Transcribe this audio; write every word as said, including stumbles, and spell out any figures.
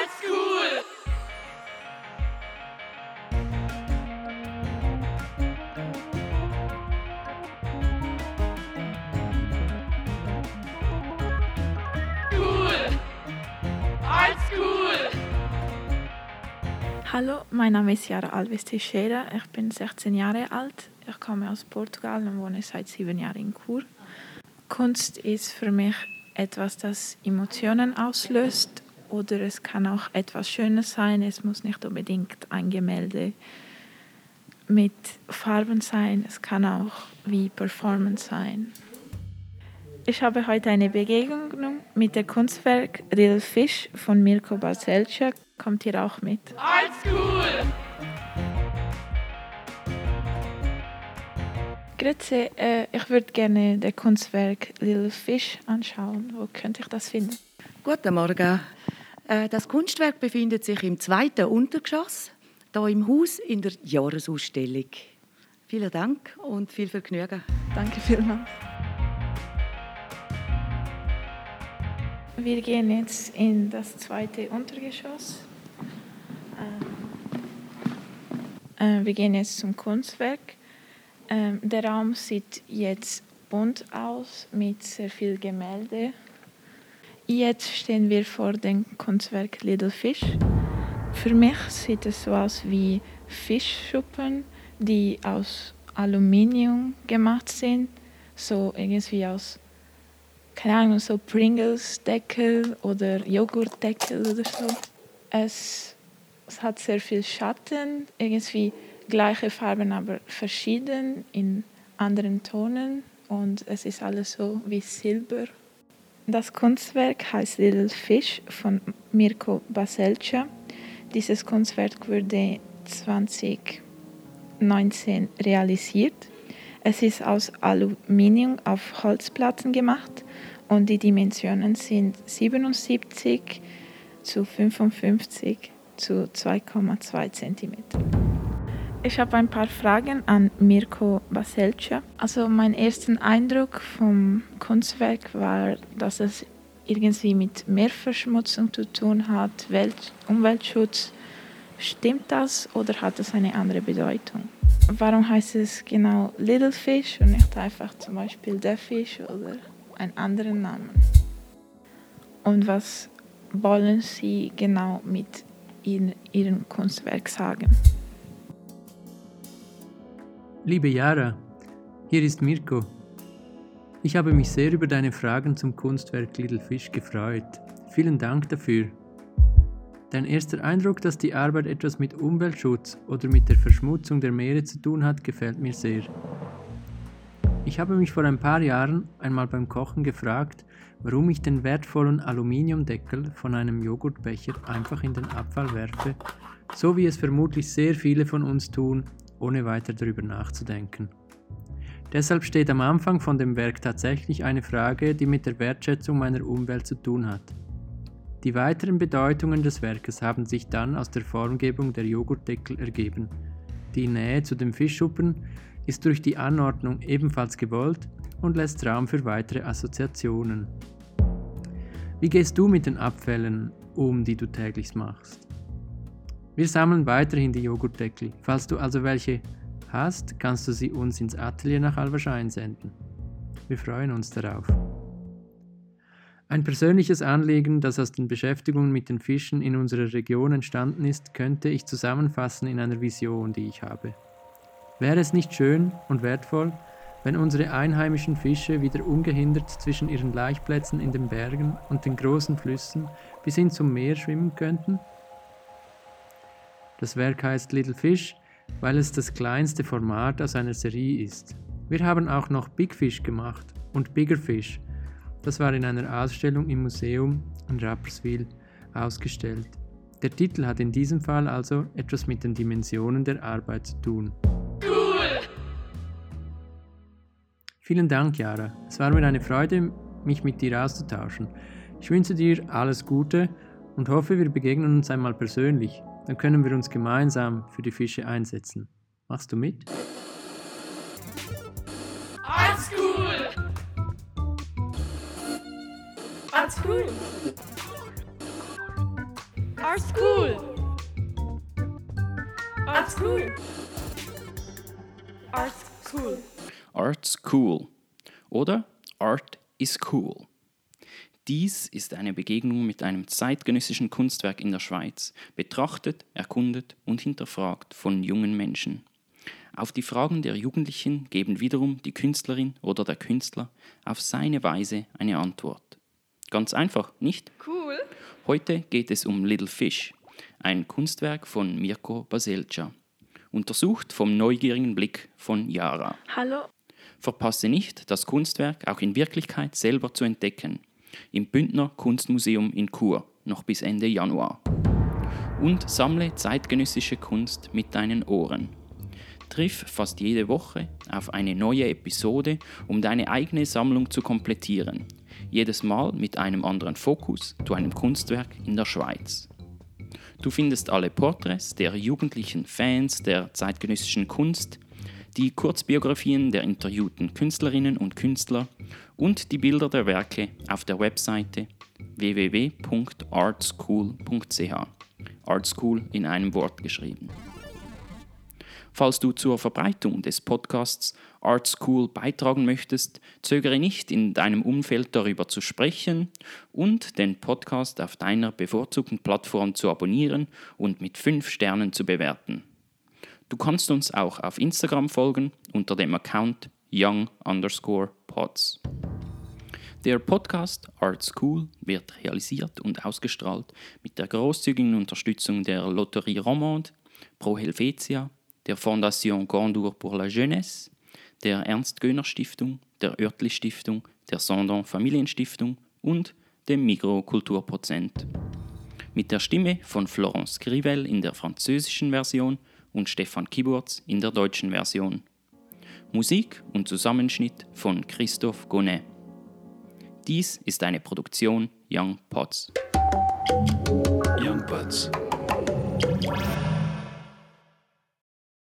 Cool! Cool! Als cool! Hallo, mein Name ist Yara Alves Teixeira, ich bin sechzehn Jahre alt, ich komme aus Portugal und wohne seit sieben Jahren in Chur. Kunst ist für mich etwas, das Emotionen auslöst, oder es kann auch etwas Schönes sein, es muss nicht unbedingt ein Gemälde mit Farben sein, es kann auch wie Performance sein. Ich habe heute eine Begegnung mit dem Kunstwerk Little Fish von Mirko Baselcia. Kommt ihr auch mit? Als cool! Grüezi, äh, ich würde gerne das Kunstwerk Little Fish anschauen. Wo könnte ich das finden? Guten Morgen. Äh, Das Kunstwerk befindet sich im zweiten Untergeschoss, hier im Haus in der Jahresausstellung. Vielen Dank und viel Vergnügen. Danke vielmals. Wir gehen jetzt in das zweite Untergeschoss. Ähm, äh, wir gehen jetzt zum Kunstwerk. Ähm, der Raum sieht jetzt bunt aus mit sehr viel Gemälde. Jetzt stehen wir vor dem Kunstwerk Little Fish. Für mich sieht es so aus wie Fischschuppen, die aus Aluminium gemacht sind, so irgendwie aus, keine Ahnung, so Pringles-Deckel oder Joghurtdeckel oder so. Es, es hat sehr viel Schatten, irgendwie gleiche Farben, aber verschieden in anderen Tonen und es ist alles so wie Silber. Das Kunstwerk heißt Little Fish von Mirko Baselcia. Dieses Kunstwerk wurde zwanzig neunzehn realisiert. Es ist aus Aluminium auf Holzplatten gemacht und die Dimensionen sind siebenundsiebzig zu fünfundfünfzig zu zwei Komma zwei Zentimeter. Ich habe ein paar Fragen an Mirko Baselcia. Also mein erster Eindruck vom Kunstwerk war, dass es irgendwie mit Meerverschmutzung zu tun hat, Welt- Umweltschutz. Stimmt das oder hat es eine andere Bedeutung? Warum heißt es genau Little Fish und nicht einfach zum Beispiel The Fish oder einen anderen Namen? Und was wollen Sie genau mit in Ihrem Kunstwerk sagen? Liebe Yara, hier ist Mirko. Ich habe mich sehr über deine Fragen zum Kunstwerk Little Fish gefreut. Vielen Dank dafür. Dein erster Eindruck, dass die Arbeit etwas mit Umweltschutz oder mit der Verschmutzung der Meere zu tun hat, gefällt mir sehr. Ich habe mich vor ein paar Jahren einmal beim Kochen gefragt, warum ich den wertvollen Aluminiumdeckel von einem Joghurtbecher einfach in den Abfall werfe, so wie es vermutlich sehr viele von uns tun, ohne weiter darüber nachzudenken. Deshalb steht am Anfang von dem Werk tatsächlich eine Frage, die mit der Wertschätzung meiner Umwelt zu tun hat. Die weiteren Bedeutungen des Werkes haben sich dann aus der Formgebung der Joghurtdeckel ergeben. Die Nähe zu den Fischschuppen ist durch die Anordnung ebenfalls gewollt und lässt Raum für weitere Assoziationen. Wie gehst du mit den Abfällen um, die du täglich machst? Wir sammeln weiterhin die Joghurtdeckel. Falls du also welche hast, kannst du sie uns ins Atelier nach Alverschein senden. Wir freuen uns darauf. Ein persönliches Anliegen, das aus den Beschäftigungen mit den Fischen in unserer Region entstanden ist, könnte ich zusammenfassen in einer Vision, die ich habe. Wäre es nicht schön und wertvoll, wenn unsere einheimischen Fische wieder ungehindert zwischen ihren Laichplätzen in den Bergen und den großen Flüssen bis hin zum Meer schwimmen könnten? Das Werk heißt Little Fish, weil es das kleinste Format aus einer Serie ist. Wir haben auch noch Big Fish gemacht und Bigger Fish. Das war in einer Ausstellung im Museum in Rapperswil ausgestellt. Der Titel hat in diesem Fall also etwas mit den Dimensionen der Arbeit zu tun. Cool! Vielen Dank, Yara. Es war mir eine Freude, mich mit dir auszutauschen. Ich wünsche dir alles Gute und hoffe, wir begegnen uns einmal persönlich. Dann können wir uns gemeinsam für die Fische einsetzen. Machst du mit? Als cool! Als cool! Art School. Art School. Art School. Art's cool oder Art is cool. Dies ist eine Begegnung mit einem zeitgenössischen Kunstwerk in der Schweiz, betrachtet, erkundet und hinterfragt von jungen Menschen. Auf die Fragen der Jugendlichen geben wiederum die Künstlerin oder der Künstler auf seine Weise eine Antwort. Ganz einfach, nicht? Cool. Heute geht es um Little Fish, ein Kunstwerk von Mirko Baselca, untersucht vom neugierigen Blick von Yara. Hallo. Verpasse nicht, das Kunstwerk auch in Wirklichkeit selber zu entdecken. Im Bündner Kunstmuseum in Chur, noch bis Ende Januar. Und sammle zeitgenössische Kunst mit deinen Ohren. Triff fast jede Woche auf eine neue Episode, um deine eigene Sammlung zu komplettieren. Jedes Mal mit einem anderen Fokus zu einem Kunstwerk in der Schweiz. Du findest alle Porträts der jugendlichen Fans der zeitgenössischen Kunst, die Kurzbiografien der interviewten Künstlerinnen und Künstler und die Bilder der Werke auf der Webseite w w w punkt artschool punkt c h. Artschool in einem Wort geschrieben. Falls du zur Verbreitung des Podcasts Artschool beitragen möchtest, zögere nicht, in deinem Umfeld darüber zu sprechen und den Podcast auf deiner bevorzugten Plattform zu abonnieren und mit fünf Sternen zu bewerten. Du kannst uns auch auf Instagram folgen unter dem Account young underscore pods. Der Podcast Art School wird realisiert und ausgestrahlt mit der großzügigen Unterstützung der Loterie Romande, Pro Helvetia, der Fondation Gondour pour la Jeunesse, der Ernst-Göhner-Stiftung, der Oertli-Stiftung, der Sondon Familienstiftung und dem Migros Kulturprozent. Mit der Stimme von Florence Grivel in der französischen Version und Stefan Kiburz in der deutschen Version. Musik und Zusammenschnitt von Christophe Gonnet. Dies ist eine Produktion Young Pods. Young Pods.